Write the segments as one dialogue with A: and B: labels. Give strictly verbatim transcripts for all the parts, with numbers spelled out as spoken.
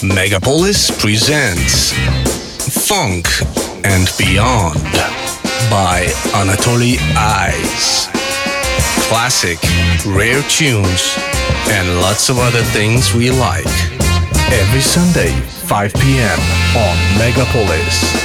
A: Megapolis presents Funk and Beyond by Anatoly Eyes. Classic, rare tunes, and lots of other things we like. Every Sunday, five p.m. on Megapolis.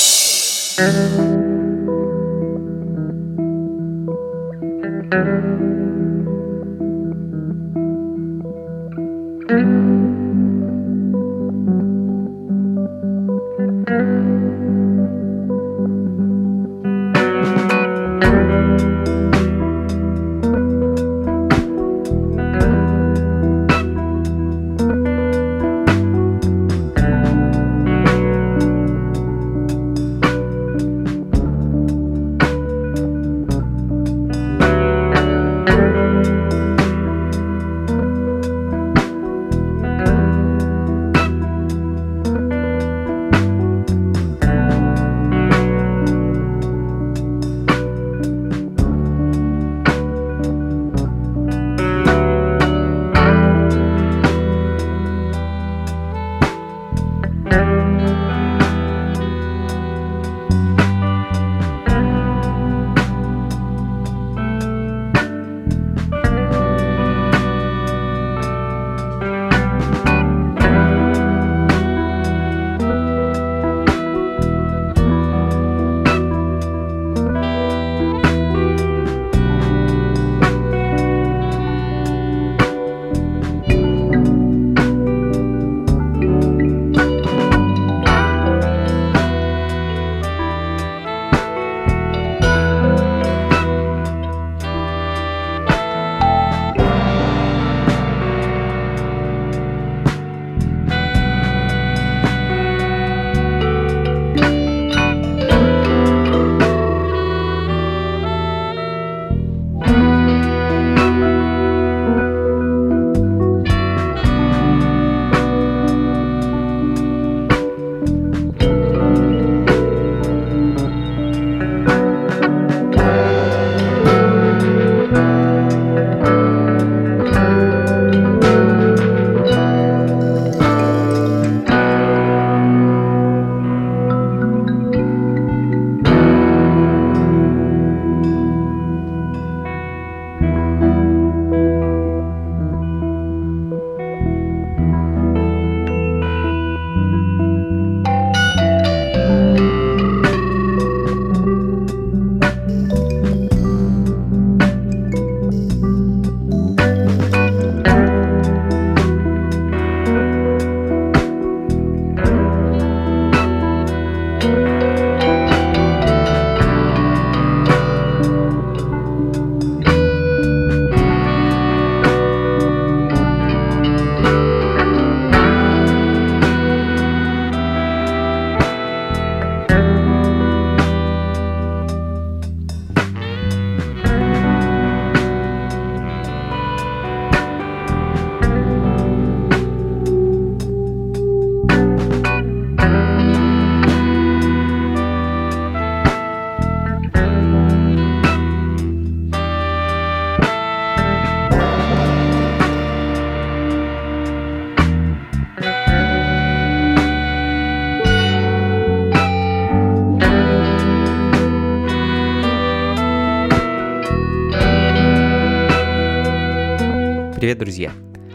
B: Привет, друзья!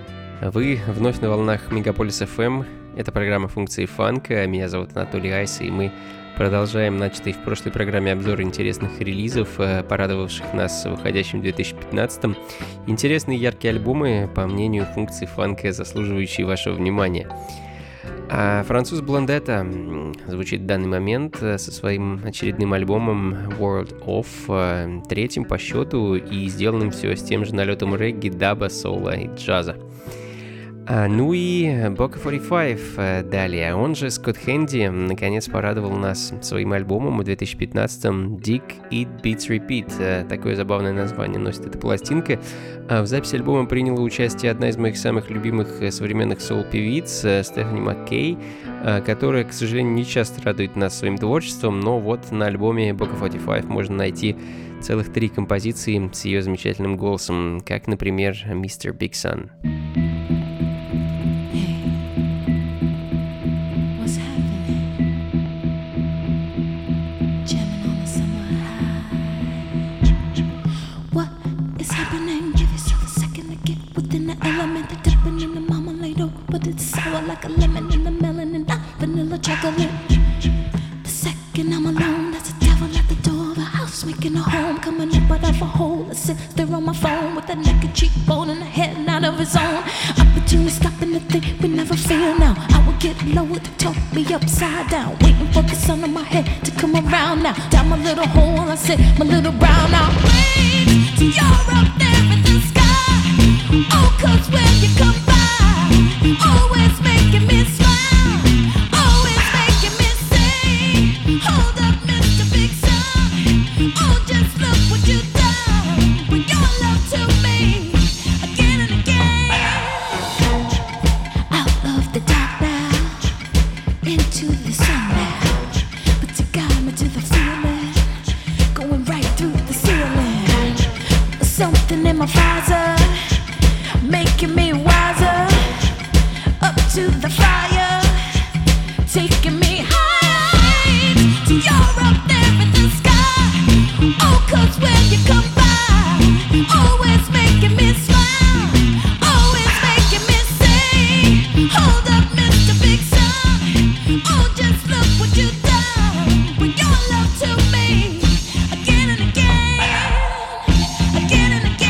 B: Вы вновь на волнах Мегаполис эф эм. Это программа «Функции фанка». Меня зовут Анатолий Айс, и мы продолжаем начатый в прошлой программе обзор интересных релизов, порадовавших нас в выходящем две тысячи пятнадцатом. Интересные яркие альбомы, по мнению функций фанка, заслуживающие вашего внимания. А француз Блондетта звучит в данный момент со своим очередным альбомом World of, третьим по счету и сделанным все с тем же налетом регги, даба, соло и джаза. А, ну и Бока сорок пять далее, он же Скотт Хэнди, наконец порадовал нас своим альбомом в две тысячи пятнадцатом Dig, Eat, Beats, Repeat. Такое забавное название носит эта пластинка. А в записи альбома приняла участие одна из моих самых любимых современных соул-певиц Стефани Маккей, которая, к сожалению, не часто радует нас своим творчеством, но вот на альбоме Бока сорок пять можно найти целых три композиции с ее замечательным голосом, как, например, мистер Big Sun.
C: peppermint, the dipping in the marmalade, oh, but it's sour like a lemon in the melon and not vanilla chocolate. The second I'm alone, there's a devil at the door of the house, making a home, coming up out of a hole. I sit there on my phone with a naked cheekbone and a head not of his own. Opportunity stopping the thing we never feel now. I will get lower to talk me upside down, waiting for the sun on my head to come around now. Down my little hole, I sit my little brown out. Wait till you're up there in the sky. Oh, cause when you come by, always making me smile, always making me say, hold up, Mister Big Sun. Oh, just look what you've done. Bring your love to me again and again. Out of the dark now, into the sun now, but you got me to the feeling, going right through the ceiling. Something in my visor, making me wiser, up to the fire, taking me high, till you're up there in the sky. Oh, cause when you come by, always making me smile, always making me say, hold up, Mister Big Sun. Oh, just look what you've done. Bring your love to me again and again, again and again.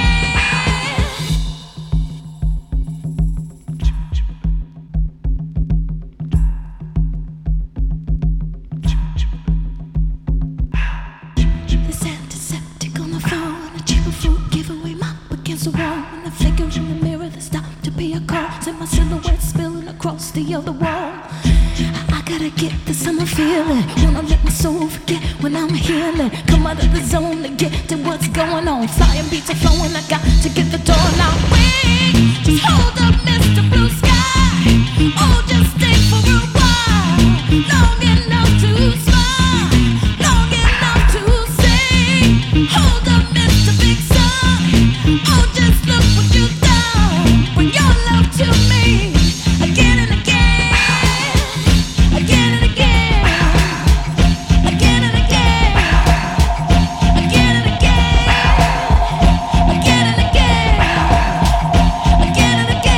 C: This antiseptic on the floor and a cheaper fruit giveaway mop against the wall. And I figure in the mirror that stopped to pay a call. See my silhouette spilling across the other wall. I, I gotta get the summer feeling. Wanna let my soul forget when I'm healing. Come out of the zone to get to what's going on. Flying beats are flowing, I got to get the door now. Wait, just hold up, Mister Blue Sky. Oh, just stay for a while, long enough to smile, long enough to say, hold up, Mister Big Sun. Oh, just look what you've done. Bring your love to me again and again, again and again, again and again, again and again, again and again, again and again.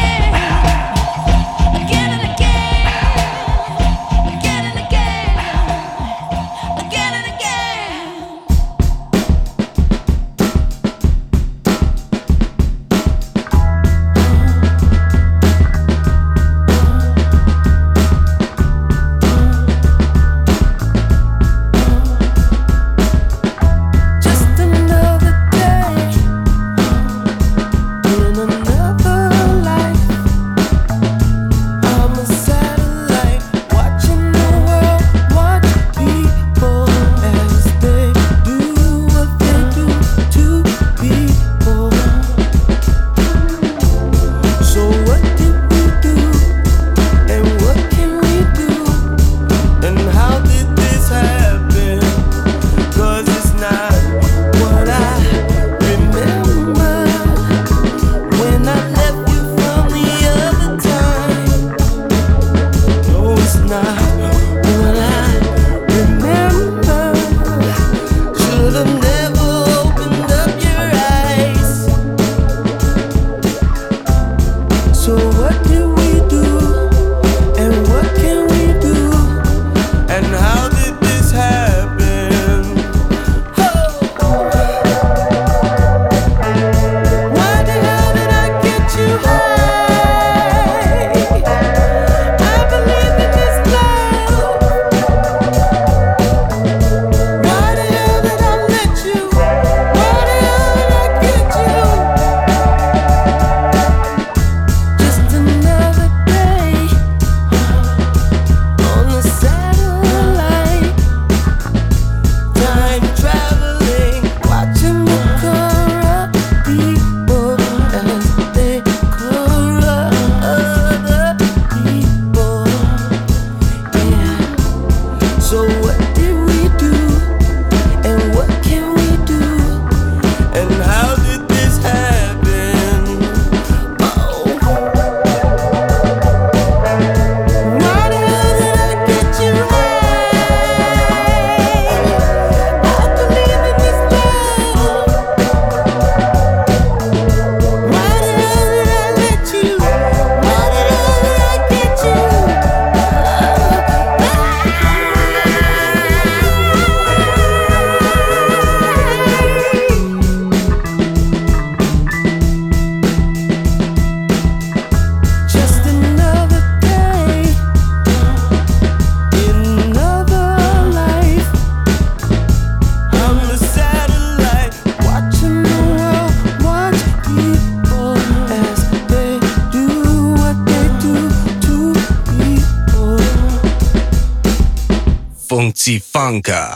A: Funky Funka.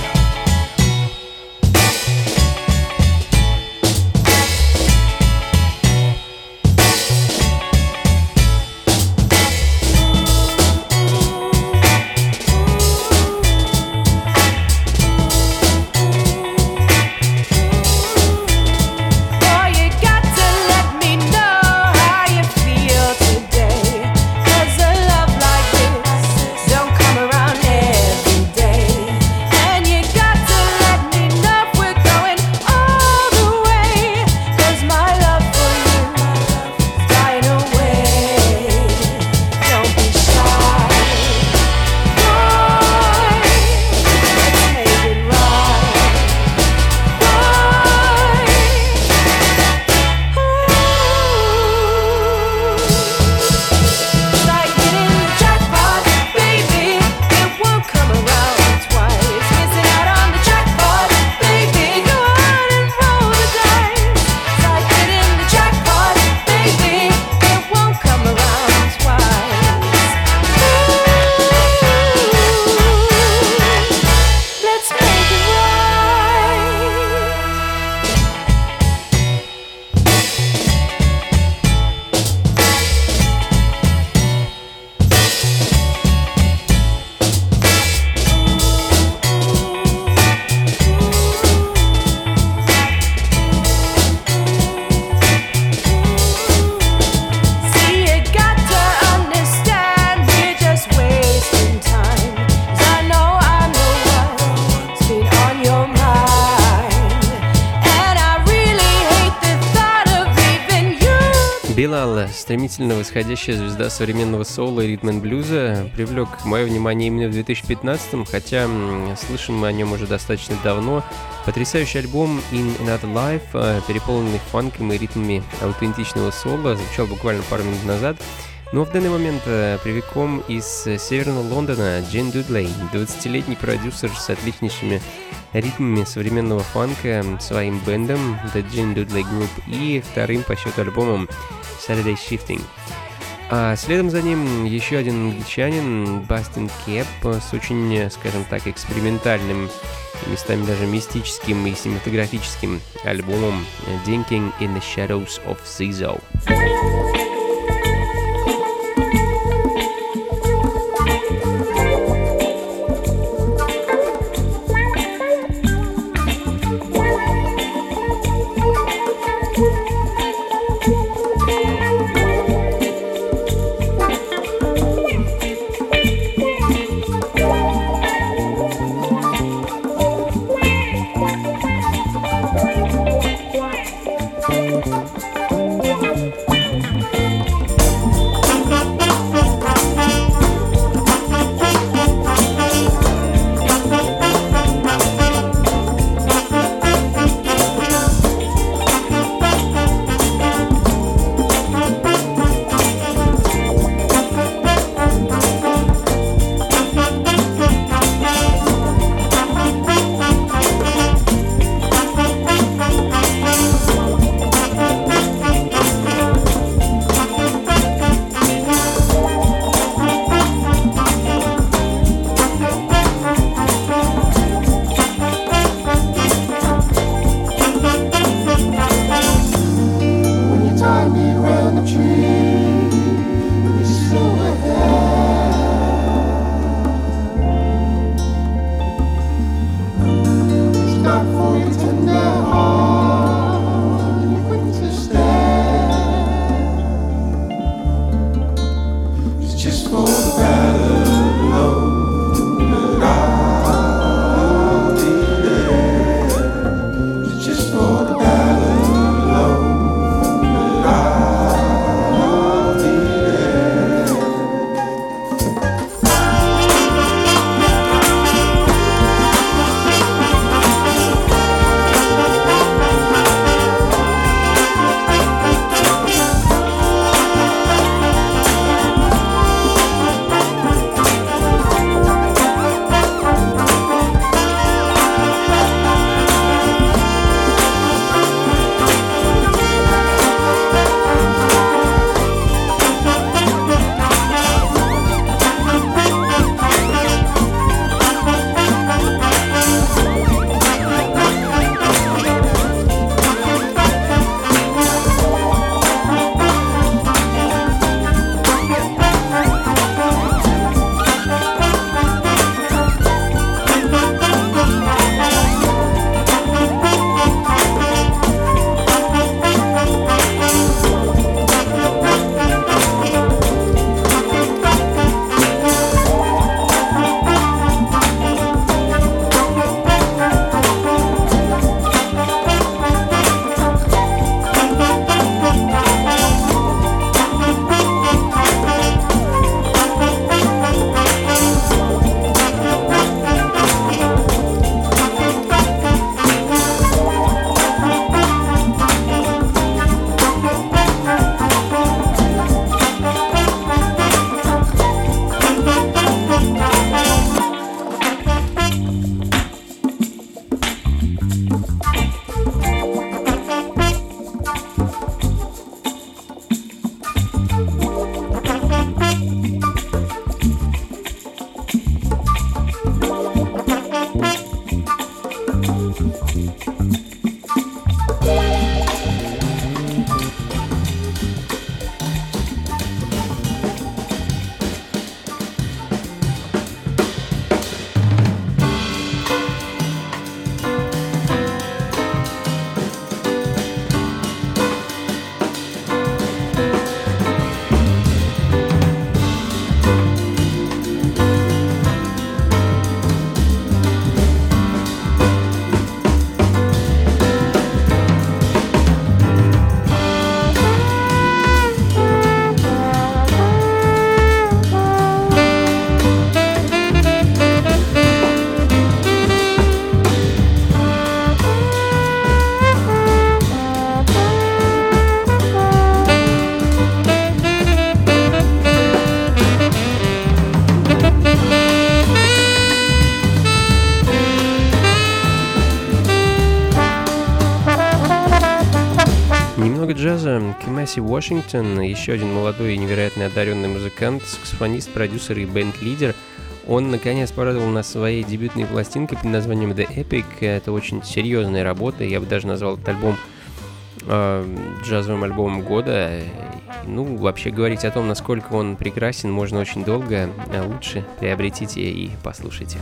B: Билал, стремительно восходящая звезда современного соула и ритм-н-блюза, привлек мое внимание именно в две тысячи пятнадцатом, хотя слышим мы о нем уже достаточно давно. Потрясающий альбом In Another Life, переполненный фанком и ритмами аутентичного соло, звучал буквально пару минут назад. Но в данный момент прямиком из северного Лондона Джин Дудлей, двадцатилетний продюсер с отличнейшими ритмами современного фанка, своим бендом The Jin Dudley Group и вторым по счету альбомом Saturday Shifting. А следом за ним еще один англичанин Bastien Kep с очень, скажем так, экспериментальным, местами даже мистическим и синематографическим альбомом Dinking in the Shadows of Zizo. Касси Вашингтон, еще один молодой и невероятно одаренный музыкант, саксофонист, продюсер и бенд-лидер. Он, наконец, порадовал нас своей дебютной пластинкой под названием The Epic. Это очень серьезная работа, я бы даже назвал этот альбом э, джазовым альбомом года. Ну, вообще говорить о том, насколько он прекрасен, можно очень долго, а лучше приобретите и послушайте.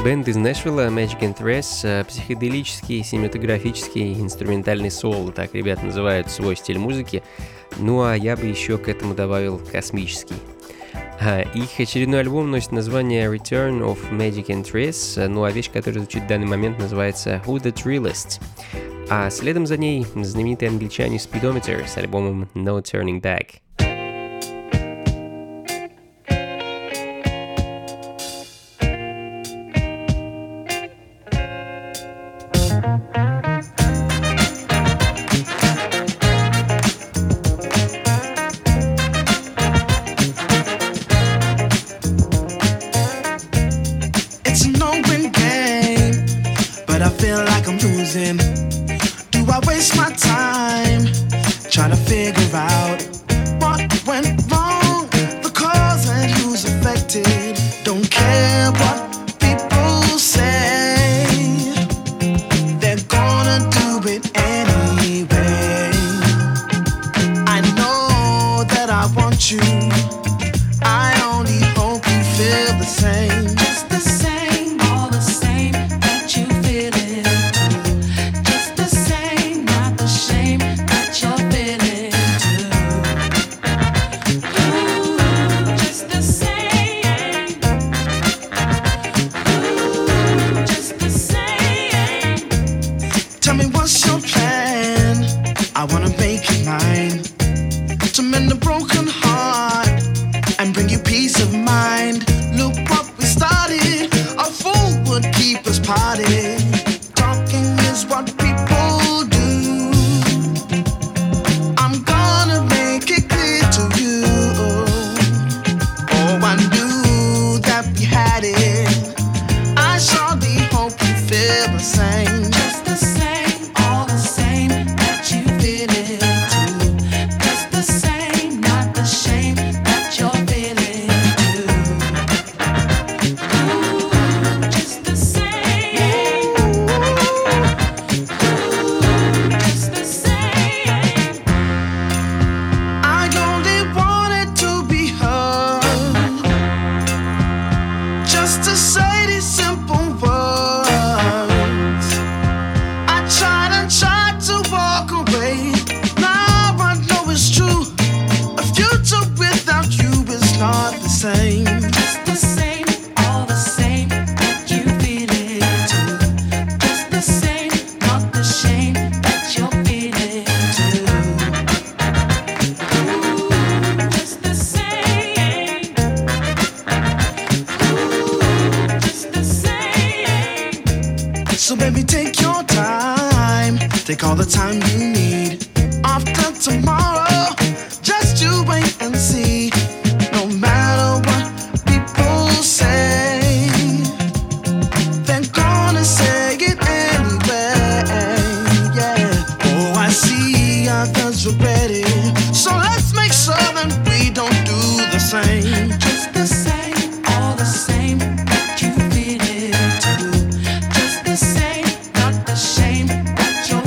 B: Бенд из Нэшвилла Magic and Threes, психоделический, синематографический, инструментальный соул, так ребята называют свой стиль музыки. Ну а я бы еще к этому добавил космический. Их очередной альбом носит название Return of Magic and Threes, ну а вещь, которая звучит в данный момент, называется Who the Trillest. А следом за ней знаменитые англичане Speedometer с альбомом No Turning Back.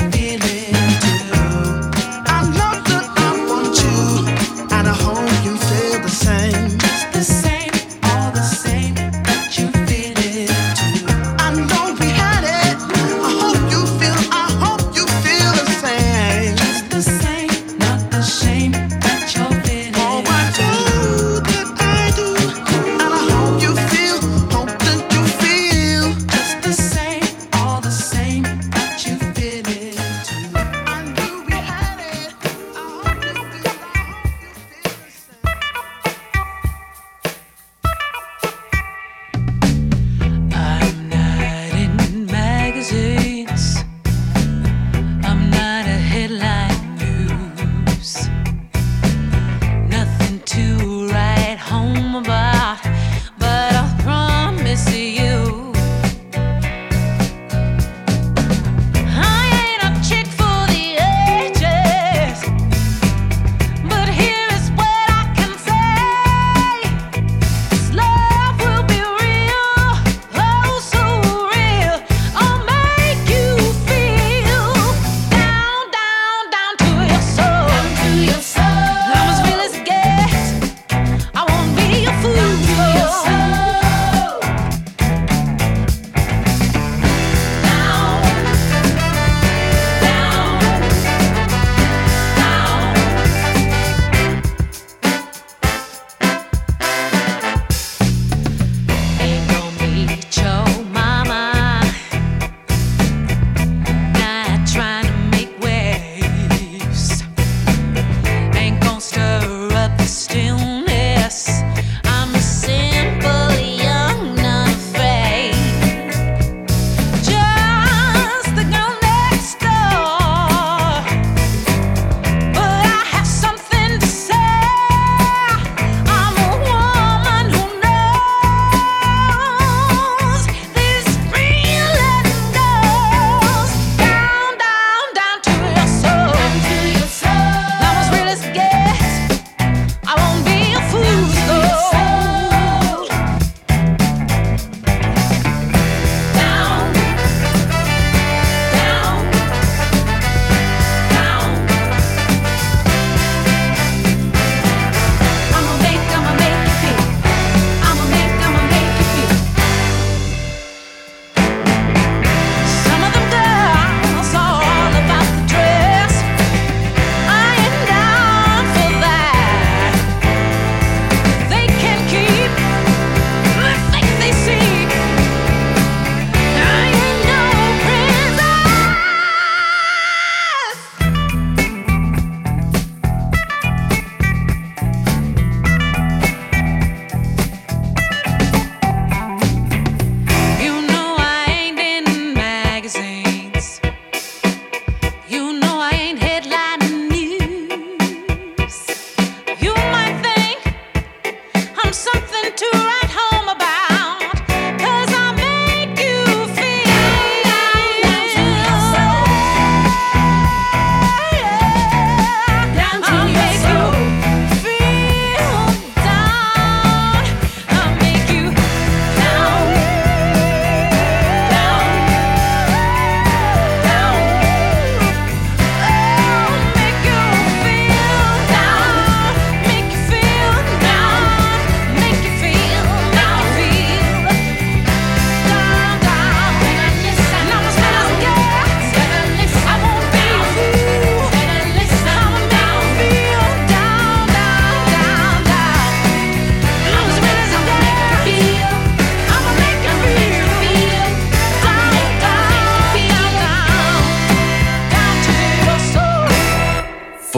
D: You feel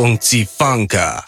A: функций фанка.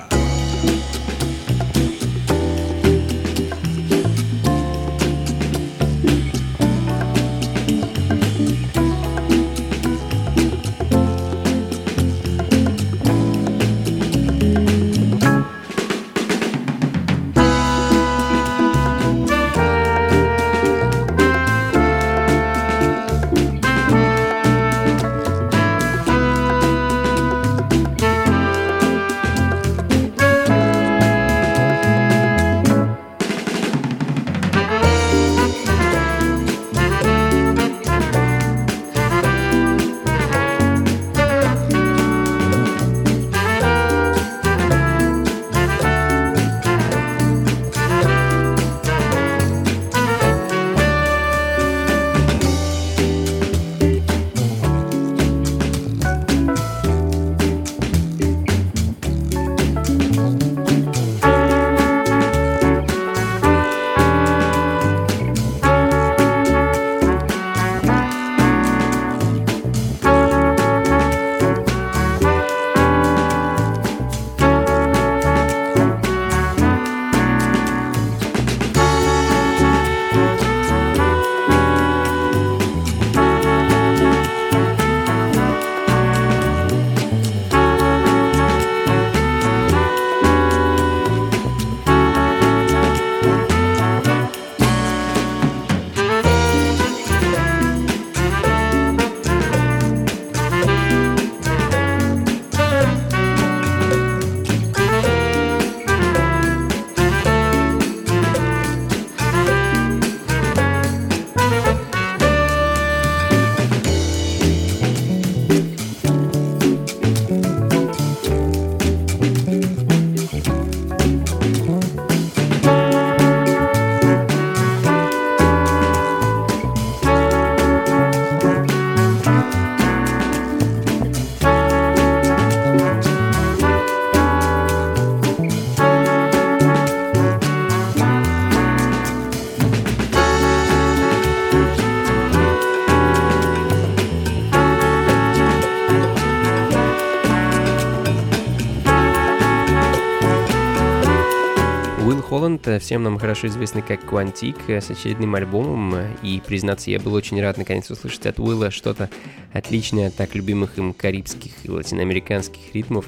B: Холланд, всем нам хорошо известный как Quantic, с очередным альбомом, и, признаться, я был очень рад наконец услышать от Уилла что-то отличное от так любимых им карибских и латиноамериканских ритмов.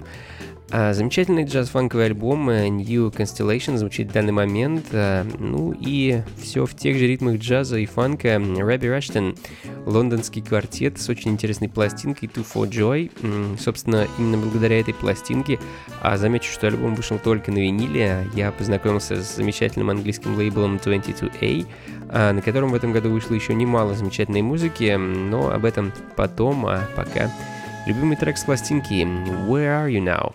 B: А замечательный джаз-фанковый альбом New Constellation звучит в данный момент, ну и все в тех же ритмах джаза и фанка. Робби Раштон, лондонский квартет с очень интересной пластинкой Two for Joy. Собственно, именно благодаря этой пластинке, а замечу, что альбом вышел только на виниле, я познакомился с замечательным английским лейблом двадцать два эй, на котором в этом году вышло еще немало замечательной музыки, но об этом потом, а пока любимый трек с пластинки Where Are You Now?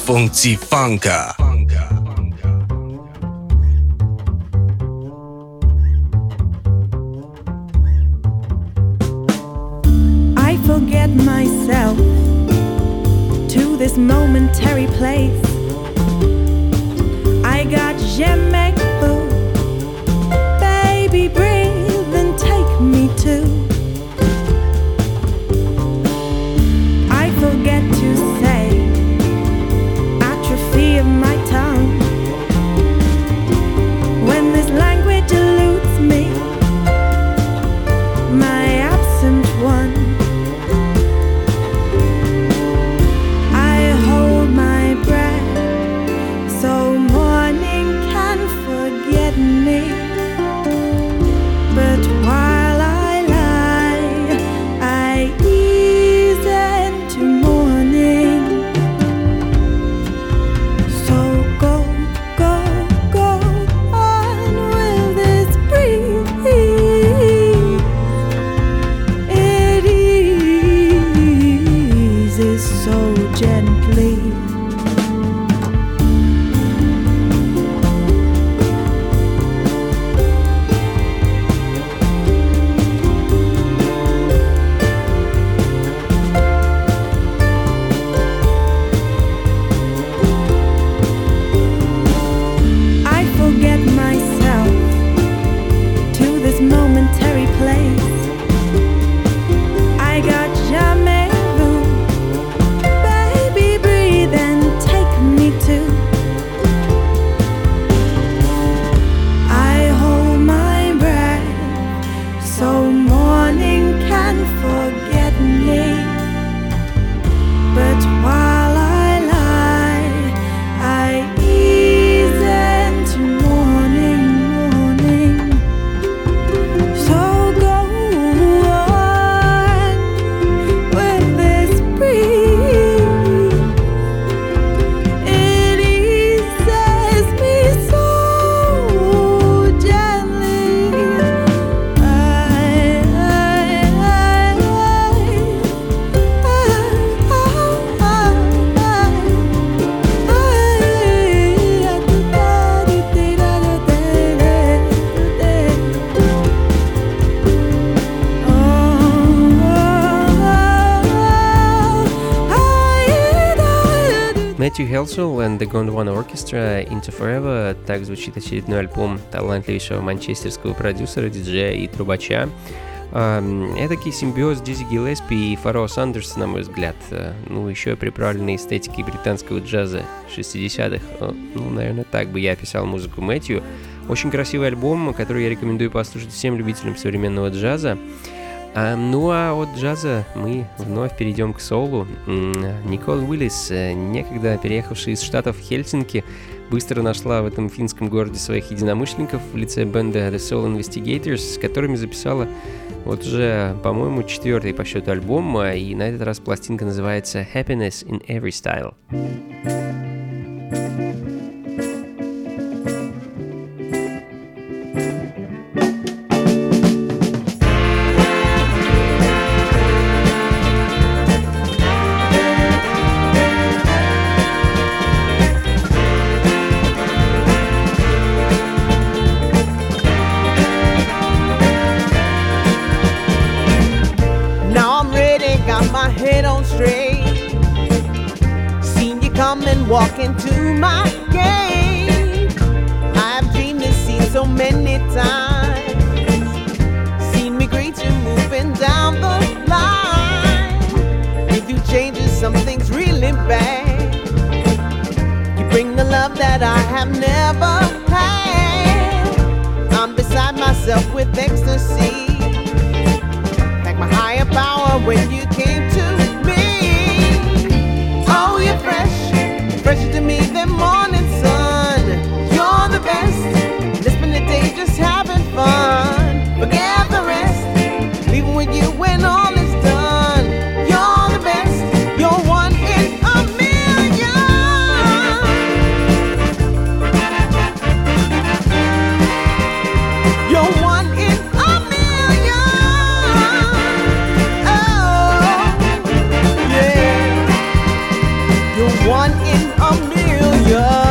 A: Funky Funka.
D: I forget myself to this momentary place. I got jamais vu. Baby, breathe and take me to. I forget to say, atrophy of my tongue. When this language eludes me, my absent one. I hold my breath so morning can forget me. But while I lie, I ease into morning. So go, go, go on with this breeze. It eases so gently. I forget myself to this momentary place. I got jamais vu. Baby, breathe and take me to. I hold my breath so morning can forget me. But while I lie, I ease into morning, morning. So go on with this breeze. It eases me so gently. I, I, I,
B: Мэтью Хелсел and the Gondwana Orchestra Into Forever. Так звучит очередной альбом талантливейшего манчестерского продюсера, диджея и трубача. Эдакий симбиоз Дизи Гиллеспи и Фароа Сандерса, на мой взгляд. Ну, еще приправленный эстетикой британского джаза шестидесятых. Ну, наверное, так бы я описал музыку Мэтью. Очень красивый альбом, который я рекомендую послушать всем любителям современного джаза. А, ну а от джаза мы вновь перейдем к соулу. Никол Уиллис, некогда переехавшая из штатов Хельсинки, быстро нашла в этом финском городе своих единомышленников в лице бенда The Soul Investigators, с которыми записала вот уже, по-моему, четвертый по счету альбом, и на этот раз пластинка называется Happiness in Every Style.
E: Walk into my game. I've dreamed this scene so many times. Seen me greet you moving down the line. If you changes, some things really bad. You bring the love that I have never had. I'm beside myself with ecstasy. Like my higher power when you came to me. Oh, you're fresh. Fresher to me than morning sun. You're the best. Let's spend the day just having fun. Forget the rest. Leaving with you when all is done. You're the best. You're one in a million. You're one in a million. Oh. one in a million.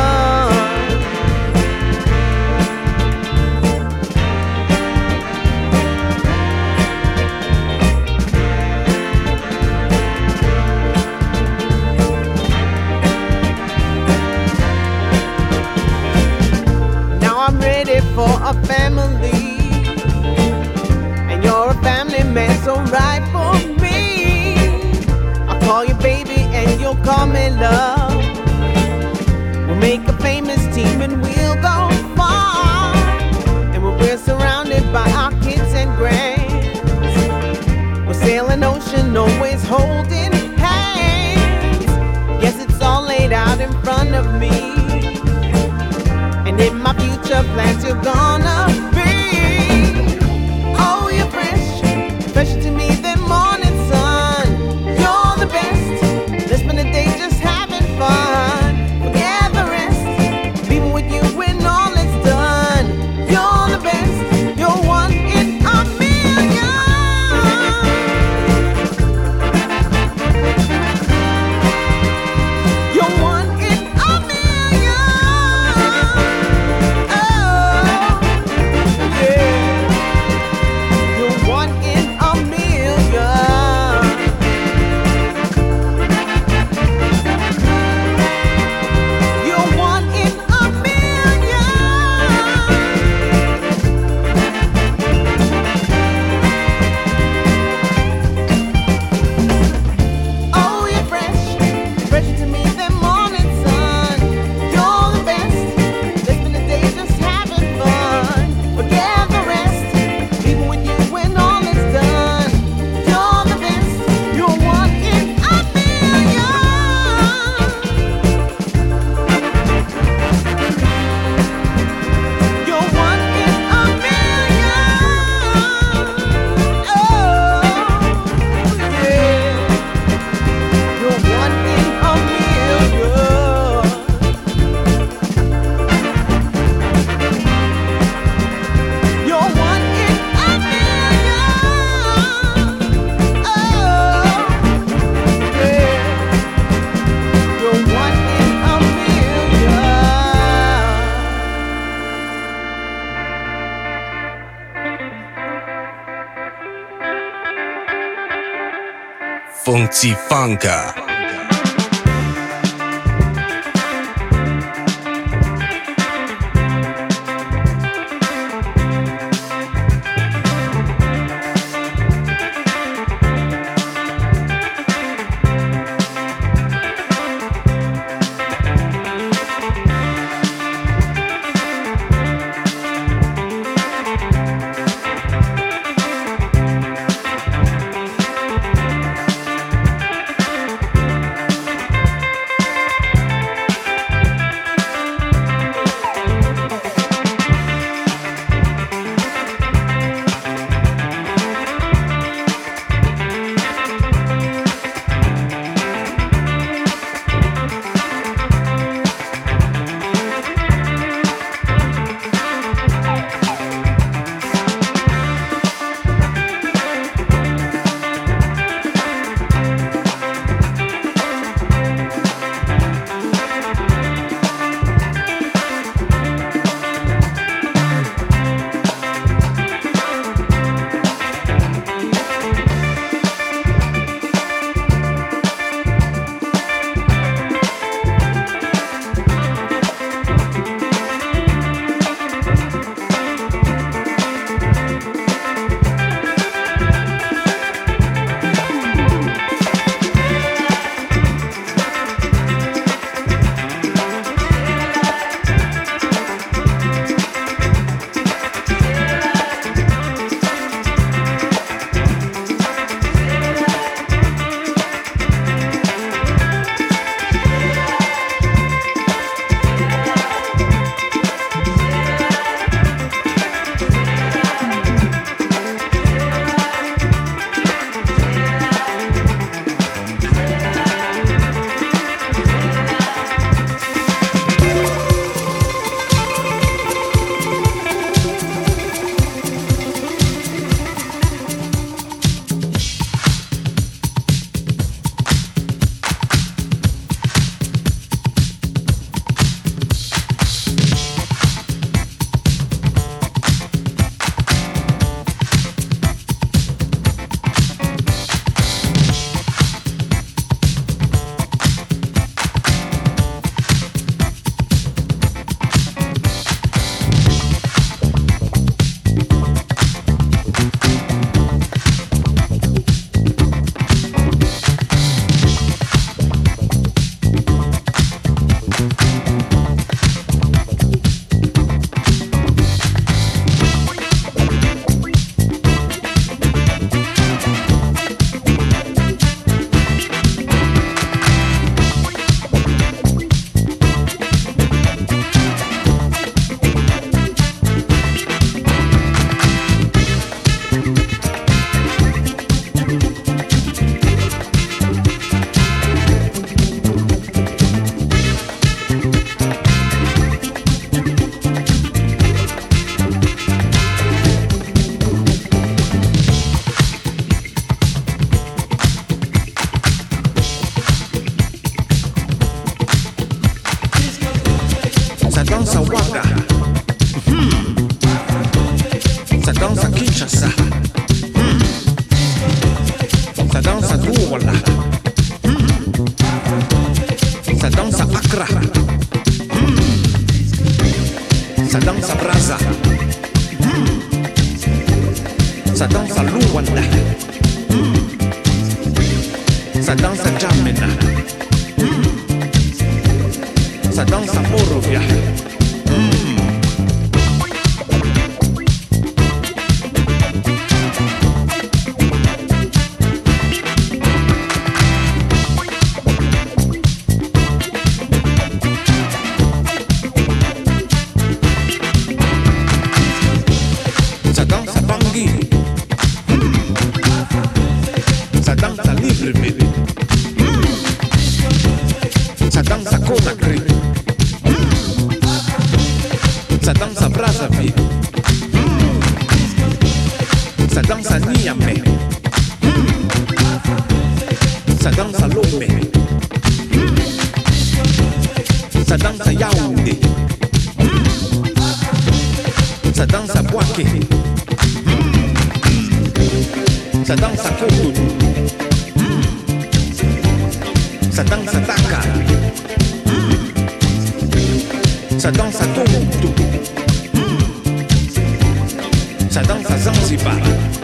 E: I'm ready for a family, and you're a family man, so right for me. I'll call you baby and you'll call me love. We'll make a famous team and we'll go far, and when we're surrounded by our kids and grands, we'll sail an ocean always holding hands. Yes, it's all laid out in front of me, and in my future plans you're gonna be. Oh, you're fresh, fresh to me than morning sun. You're the best, let's spend the day just having fun. Forget the rest, be with you when all is done. You're the best, you're one in a million. You're one in a million.
A: Funky Funka.
F: dança Wada, hmm. Ça dança Kinshasa, hmm. Ça dança Douala, hmm. Ça dança Accra, hmm. Ça dança Brazza, hmm. Ça dança Luanda, hmm. Ça dança Jamena, hmm. Ça dança Morovia, hmm. Ça dança Conakry, ça dança Brazzaville, ça dança Niamey, ça dança Lomé, ça dança Yaoundé, ça dança Bouaké, ça dança Cotonou, ça dança Dakar, ça danse à Tombouctou, ça danse à Zanzibar.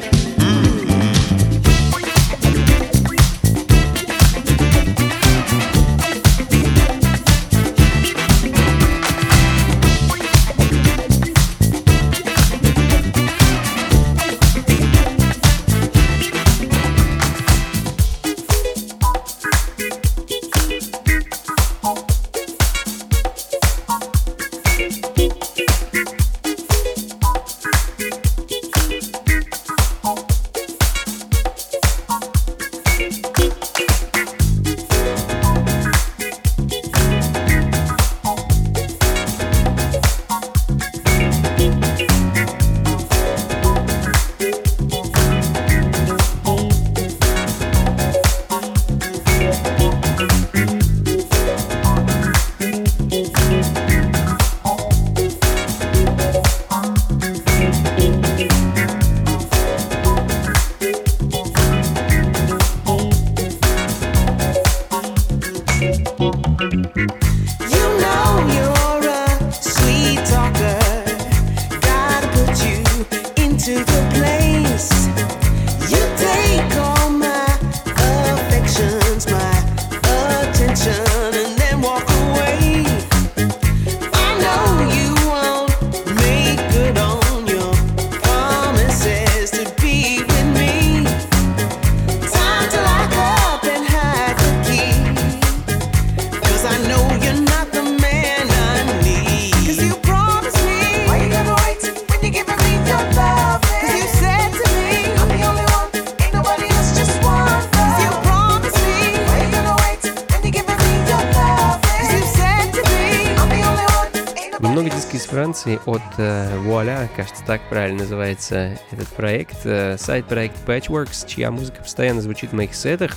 B: Франции от Voila, кажется, так правильно называется этот проект, сайт-проект Patchworks, чья музыка постоянно звучит в моих сетах.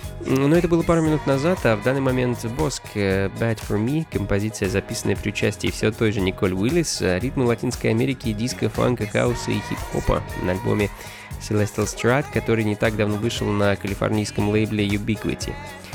B: Но это было пару минут назад, а в данный момент Боск Bad For Me, композиция, записанная при участии все той же Николь Уиллис, ритмы Латинской Америки, диска, фанка, хауса и хип-хопа на альбоме Celestial Strat, который не так давно вышел на калифорнийском лейбле Ubiquity.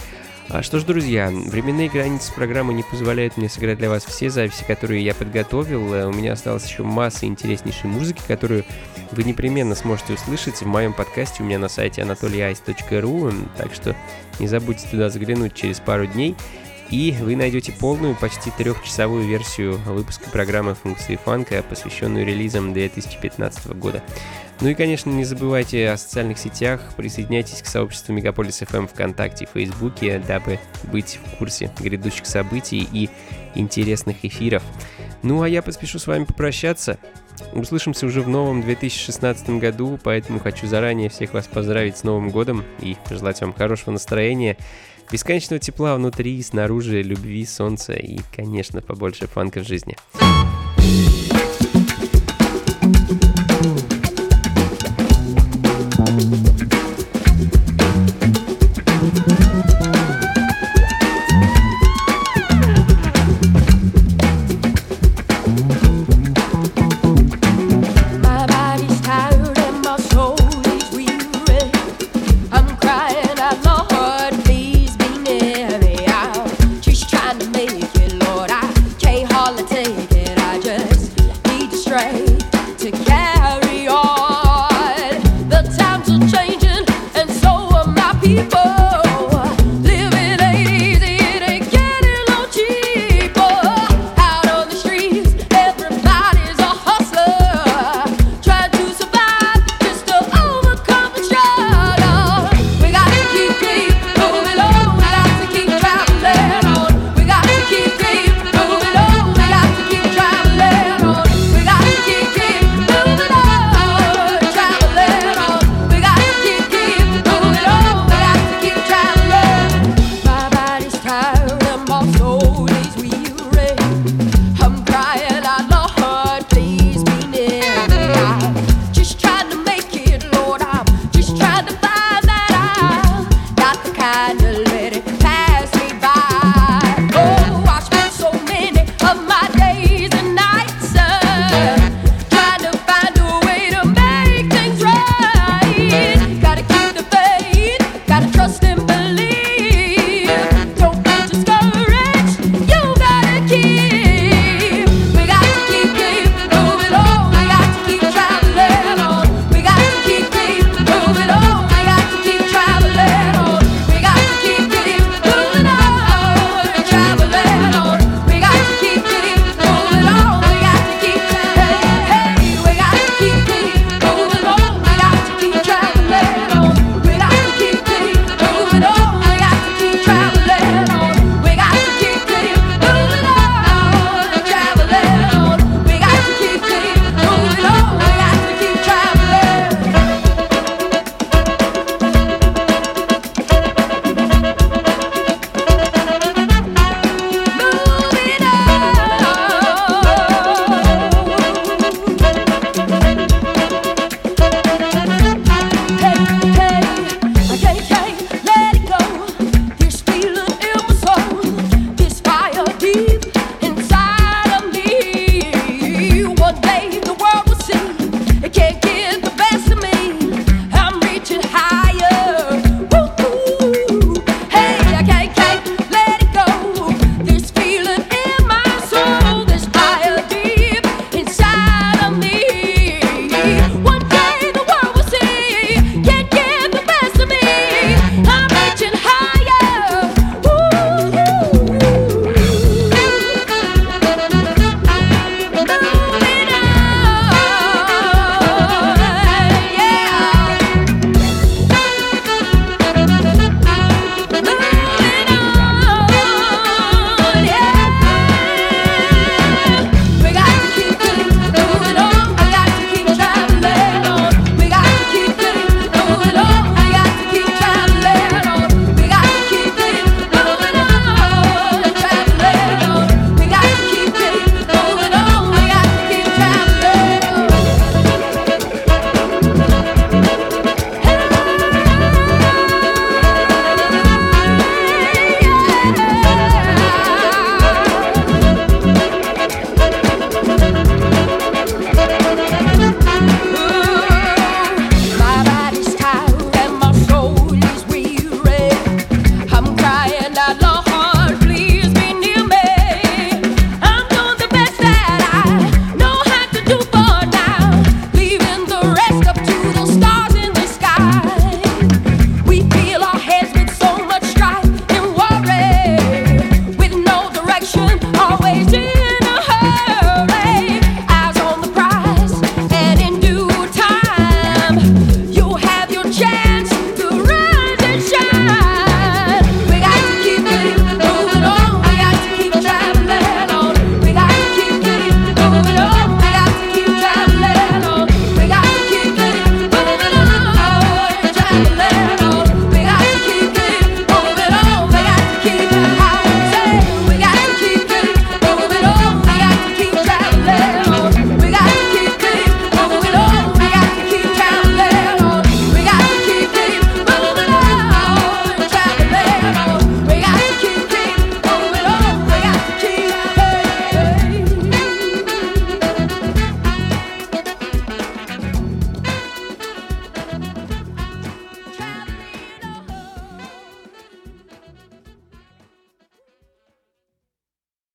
B: А что ж, друзья, временные границы программы не позволяют мне сыграть для вас все записи, которые я подготовил. У меня осталась еще масса интереснейшей музыки, которую вы непременно сможете услышать в моем подкасте у меня на сайте анатолий айс точка ру, так что не забудьте туда заглянуть через пару дней, и вы найдете полную, почти трехчасовую версию выпуска программы «Функции фанка», посвященную релизам две тысячи пятнадцатого года. Ну и, конечно, не забывайте о социальных сетях, присоединяйтесь к сообществу Мегаполис эф эм ВКонтакте и Фейсбуке, дабы быть в курсе грядущих событий и интересных эфиров. Ну а я поспешу с вами попрощаться. Услышимся уже в новом две тысячи шестнадцатом году, поэтому хочу заранее всех вас поздравить с Новым годом и пожелать вам хорошего настроения, бесконечного тепла внутри и снаружи, любви, солнца и, конечно, побольше фанка в жизни.